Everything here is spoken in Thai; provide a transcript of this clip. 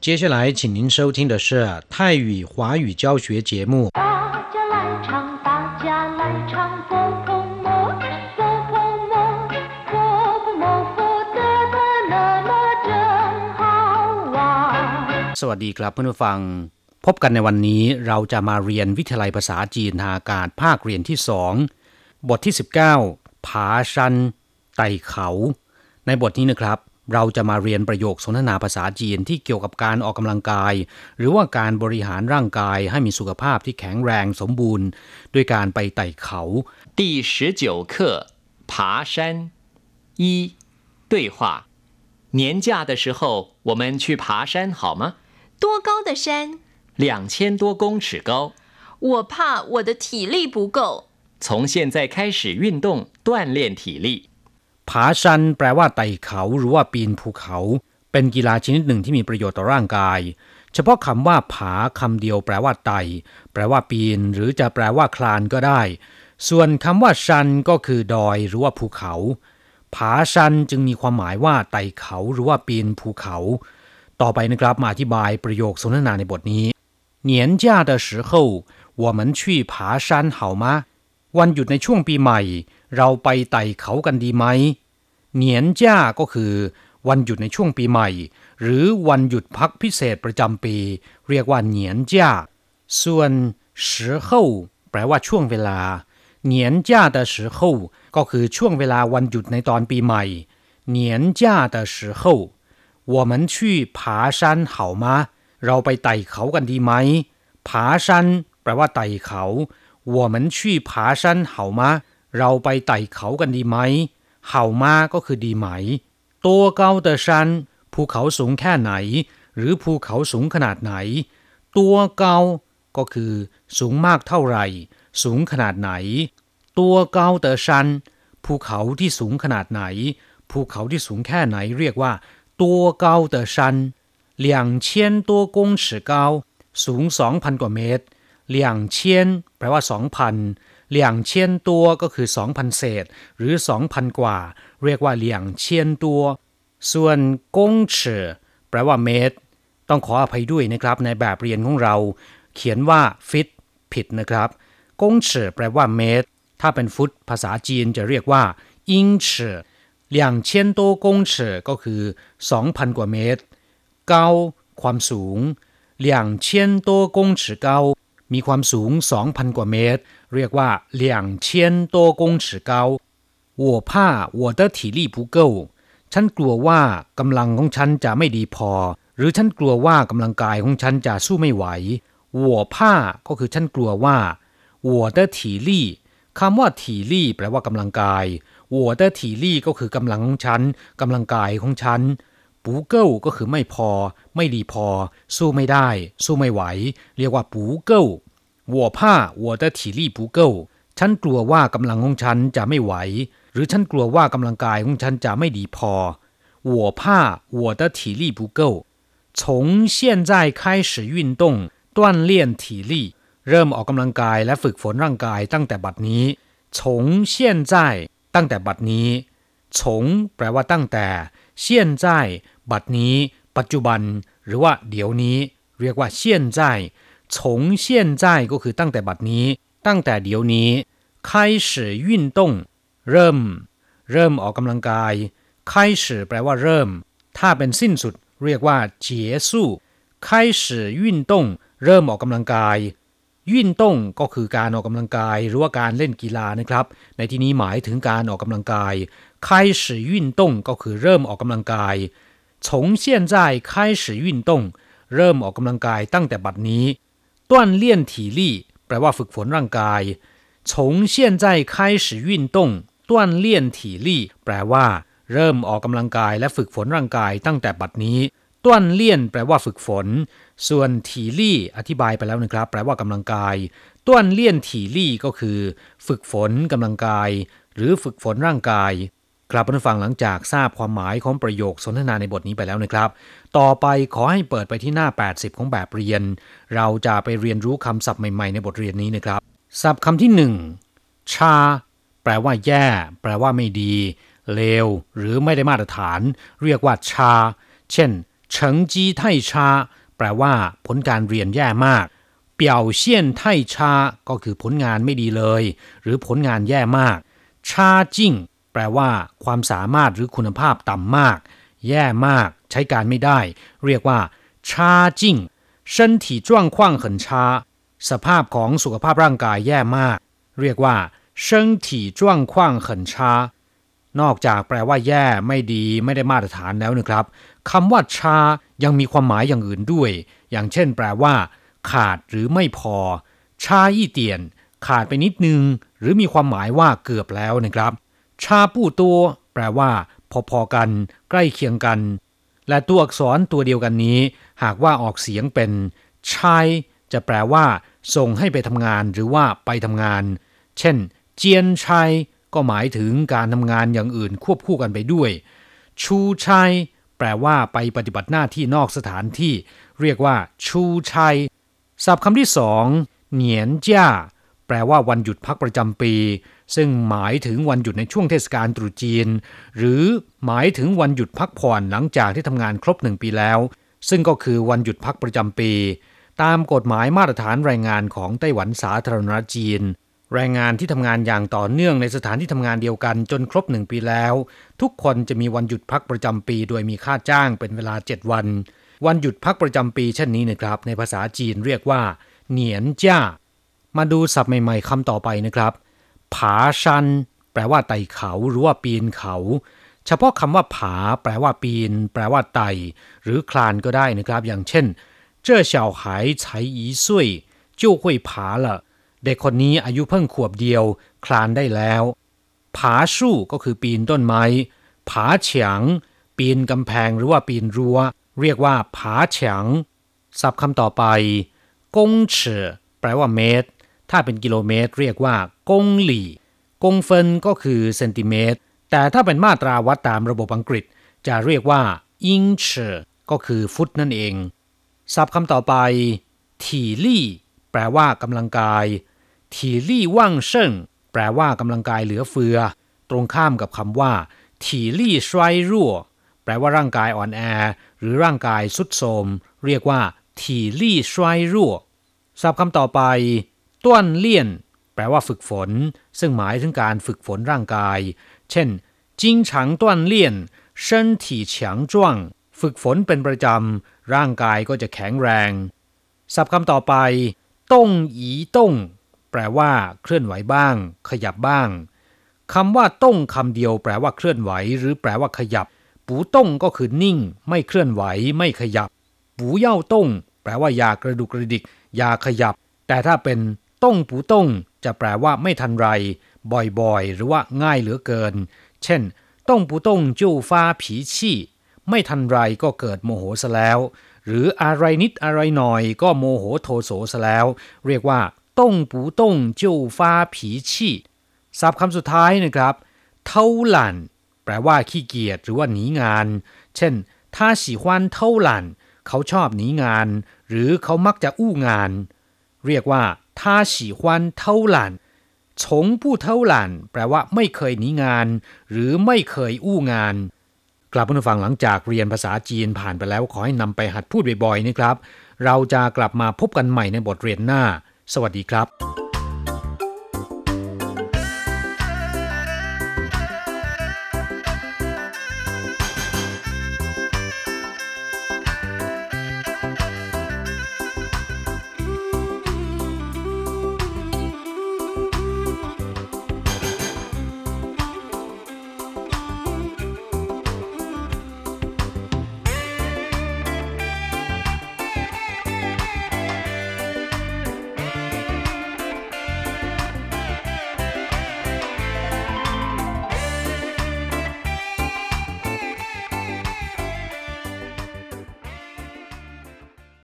接下来请您收听的是泰语华语教学节目。 大家来唱，大家来唱，佛婆摩，佛婆摩，佛婆摩，佛得的那麼真好玩。 สวัสดีครับเพื่อนผู้ฟังพบกันในวันนี้เราจะมาเรียนวิทยาลัยภาษาจีนทางอากาศภาคเรียนที่2บทที่19ผาชันไต่เขาในบทนี้นะครับเราจะมาเรียนประโยคสนทนาภาษาจีนที่เกี่ยวกับการออกกำลังกายหรือว่าการบริหารร่างกายให้มีสุขภาพที่แข็งแรงสมบูรณ์ด้วยการไปไต่เขา第19課爬山一對話年假的時候我們去爬山好嗎？ 多高的山 2000多公尺高我怕我的體力不夠從現在開始運動鍛鍊體力ผาชันแปลว่าไต่เขาหรือว่าปีนภูเขาเป็นกีฬาชนิดหนึ่งที่มีประโยชน์ต่อร่างกายเฉพาะคำว่าผาคำเดียวแปลว่าไต่แปลว่าปีนหรือจะแปลว่าคลานก็ได้ส่วนคำว่าชันก็คือดอยหรือว่าภูเขาผาชันจึงมีความหมายว่าไต่เขาหรือว่าปีนภูเขาต่อไปนะครับมาอธิบายประโยคสนทนาในบทนี้年假的時候我們去爬山好嗎วันหยุดในช่วงปีใหม่เราไปไต่เขากันดีไหมเหนียนจ้าก็คือวันหยุดในช่วงปีใหม่หรือวันหยุดพักพิเศษประจำปีเรียกว่าเหนียนจ้าส่วน时候แปลว่าช่วงเวลาเหนียนจ้า的时候ก็คือช่วงเวลาวันหยุดในตอนปีใหม่เหนียนจ้า的时候我們去爬山好嗎เราไปไต่เขากันดีไหมผาชันแปลว่าไต่เขา我們去爬山好嗎เราไปไต่เขากันดีไหม好嗎ก็คือดีไหม多高的山ภูเขาสูงแค่ไหนหรือภูเขาสูงขนาดไหน多高ก็คือสูงมากเท่าไหร่สูงขนาดไหน多高的山ภูเขาที่สูงขนาดไหนภูเขาที่สูงแค่ไหนเรียกว่า多高的山2000多公尺高สูง 2,000 กว่าเมตร2000แปลว่า 2,000 2000ตัวก็คือ 2,000 เศษหรือ 2,000 กว่าเรียกว่า2000ตัวส่วนกงเฉอแปลว่าเมตรต้องขออภัยด้วยนะครับในแบบเรียนของเราเขียนว่าฟิตผิดนะครับกงเฉอแปลว่าเมตรถ้าเป็นฟุตภาษาจีนจะเรียกว่าอิงเฉอ2000ตัวกงเฉอก็คือ 2,000 กว่าเมตรเก้าความสูง2000ตัวกงเฉอเก้ามีความสูง 2,000 กว่าเมตรเรียกว่า2000多公尺高我怕我的體力不夠ฉันกลัวว่ากำลังของฉันจะไม่ดีพอหรือฉันกลัวว่ากำลังกายของฉันจะสู้ไม่ไหว我怕ก็คือฉันกลัวว่า我的體力คำว่า體力แปลว่ากำลังกาย我的體力ก็คือกำลังของฉันกำลังกายของฉันปูเก้าก็คือไม่พอไม่ดีพอสู้ไม่ได้สู้ไม่ไหวเรียกว่าปูเก้า我怕我的體力不夠ฉันกลัวว่ากำลังของฉันจะไม่ไหวหรือฉันกลัวว่ากำลังกายของฉันจะไม่ดีพอ我怕我的體力不夠從現在開始運動鍛鍊體力เริ่มออกกำลังกายและฝึกฝนร่างกายตั้งแต่บัดนี้從現在ตั้งแต่บัดนี้從แปลว่าตั้งแต่現在บัดนี้ปัจจุบันหรือว่าเดี๋ยวนี้เรียกว่า现在从现在ก็คือตั้งแต่บัดนี้ตั้งแต่เดี๋ยวนี้開始運動เริ่มออกกำลังกาย開始แปลว่าเริ่มถ้าเป็นสิ้นสุดเรียกว่า結束開始運動เริ่มออกกำลังกาย運動ก็คือการออกกำลังกายหรือว่าการเล่นกีฬานะครับในที่นี้หมายถึงการออกกำลังกาย開始運動ก็คือเริ่มออกกำลังกาย從現在開始運動เริ่มออกกำลังกายตั้งแต่บัดนี้鍛鍊體力แปลว่าฝึกฝนร่างกาย從現在開始運動鍛鍊體力แปลว่าเริ่มออกกำลังกายและฝึกฝนร่างกายตั้งแต่บัดนี้ต้วนเลี่ยนแปลว่าฝึกฝนส่วนถีลี่อธิบายไปแล้วนะครับแปลว่ากำลังกายต้วนเลี่ยนถีลี่ก็คือฝึกฝนกำลังกายหรือฝึกฝนร่างกายครับผู้ฟังหลังจากทราบความหมายของประโยคสนทนาในบทนี้ไปแล้วนะครับต่อไปขอให้เปิดไปที่หน้า80ของแบบเรียนเราจะไปเรียนรู้คำศัพท์ใหม่ๆในบทเรียนนี้นะครับศัพท์คำที่1ชาแปลว่าแย่แปลว่าไม่ดีเลวหรือไม่ได้มาตรฐานเรียกว่าชาเช่น成績太差แปลว่าผลการเรียนแย่มาก表現太差ก็คือผลงานไม่ดีเลยหรือผลงานแย่มาก差勁แปลว่าความสามารถหรือคุณภาพต่ำมากแย่มากใช้การไม่ได้เรียกว่า差勁身體狀況很差สภาพของสุขภาพร่างกายแย่มากเรียกว่า身體狀況很差นอกจากแปลว่าแย่ไม่ดีไม่ได้มาตรฐานแล้วนะครับคำว่าชายังมีความหมายอย่างอื่นด้วยอย่างเช่นแปลว่าขาดหรือไม่พอชาอี้เตียนขาดไปนิดนึงหรือมีความหมายว่าเกือบแล้วนะครับชาปู้ตัวแปลว่าพอๆกันใกล้เคียงกันและตัวอักษรตัวเดียวกันนี้หากว่าออกเสียงเป็นชายจะแปลว่าส่งให้ไปทำงานหรือว่าไปทำงานเช่นเจียนชัยก็หมายถึงการทำงานอย่างอื่นควบคู่กันไปด้วยชูชัยแปลว่าไปปฏิบัติหน้าที่นอกสถานที่เรียกว่าชูชัยศัพท์คำที่สองเหนียนจ้าแปลว่าวันหยุดพักประจำปีซึ่งหมายถึงวันหยุดในช่วงเทศกาลตรุษจีนหรือหมายถึงวันหยุดพักผ่อนหลังจากที่ทำงานครบ1 ปีแล้วซึ่งก็คือวันหยุดพักประจำปีตามกฎหมายมาตรฐานแรงงานของไต้หวันสาธารณรัฐจีนแรงงานที่ทำงานอย่างต่อเนื่องในสถานที่ทำงานเดียวกันจนครบ1 ปีแล้วทุกคนจะมีวันหยุดพักประจำปีโดยมีค่าจ้างเป็นเวลา7 วันวันหยุดพักประจำปีเช่นนี้นะครับในภาษาจีนเรียกว่าเหนียนจ้ามาดูศัพท์ใหม่ๆคำต่อไปนะครับผาชันแปลว่าไต่เขาหรือว่าปีนเขาเฉพาะคำว่าผาแปลว่าปีนแปลว่าไต่หรือคลานก็ได้นะครับอย่างเช่น这小孩才1歲就會爬了เด็กคนนี้อายุเพิ่งขวบเดียวคลานได้แล้วผาสู้ก็คือปีนต้นไม้ผาเฉียงปีนกำแพงหรือว่าปีนรั้วเรียกว่าผาเฉียงศัพท์คำต่อไปกงเฉ่แปลว่าเมตรถ้าเป็นกิโลเมตรเรียกว่ากงหลี่กงเฟินก็คือเซนติเมตรแต่ถ้าเป็นมาตราวัดตามระบบอังกฤษจะเรียกว่าอิงเฉ่ก็คือฟุตนั่นเองศัพท์คำต่อไปถี่ลี่แปลว่ากำลังกายถี่ลี่ว่างเซิ่งแปลว่ากำลังกายเหลือเฟือตรงข้ามกับคำว่าถี่ลี่ชวยรั่วแปลว่าร่างกายอ่อนแอหรือร่างกายทรุดโทรมเรียกว่าถี่ลี่ชวยรั่วศัพท์คำต่อไปต้วนเลี่ยนแปลว่าฝึกฝนซึ่งหมายถึงการฝึกฝนร่างกายเช่น经常锻炼身體強壯ฝึกฝนเป็นประจำร่างกายก็จะแข็งแรงศัพท์คำต่อไปต้งอีต้งแปลว่าเคลื่อนไหวบ้างขยับบ้างคำว่าต้งคำเดียวแปลว่าเคลื่อนไหวหรือแปลว่าขยับปูต้งก็คือนิ่งไม่เคลื่อนไหวไม่ขยับปูเย่าต้งแปลว่าอย่ากระดุกกระดิกอย่าขยับแต่ถ้าเป็นต้งปูต้งจะแปลว่าไม่ทันไรบ่อยๆหรือว่าง่ายเหลือเกินเช่นต้งปูต้งจู้ฟ้าผีชี่ไม่ทันไรก็เกิดโมโหซะแล้วหรืออะไรนิดอะไรหน่อยก็โมโหโทโสซะแล้วเรียกว่าต้งปูต้งจู้ฟ้าผีชี่ศัพท์คำสุดท้ายนะครับเท่าหลั่นแปลว่าขี้เกียจหรือว่าหนีงานเช่น他喜歡偷懶เขาชอบหนีงานหรือเขามักจะอู้งานเรียกว่า他喜歡偷懶從不偷懶แปลว่าไม่เคยหนีงานหรือไม่เคยอู้งานกลับมาฟังหลังจากเรียนภาษาจีนผ่านไปแล้วขอให้นำไปหัดพูดบ่อยๆนะครับเราจะกลับมาพบกันใหม่ในบทเรียนหน้าสวัสดีครับ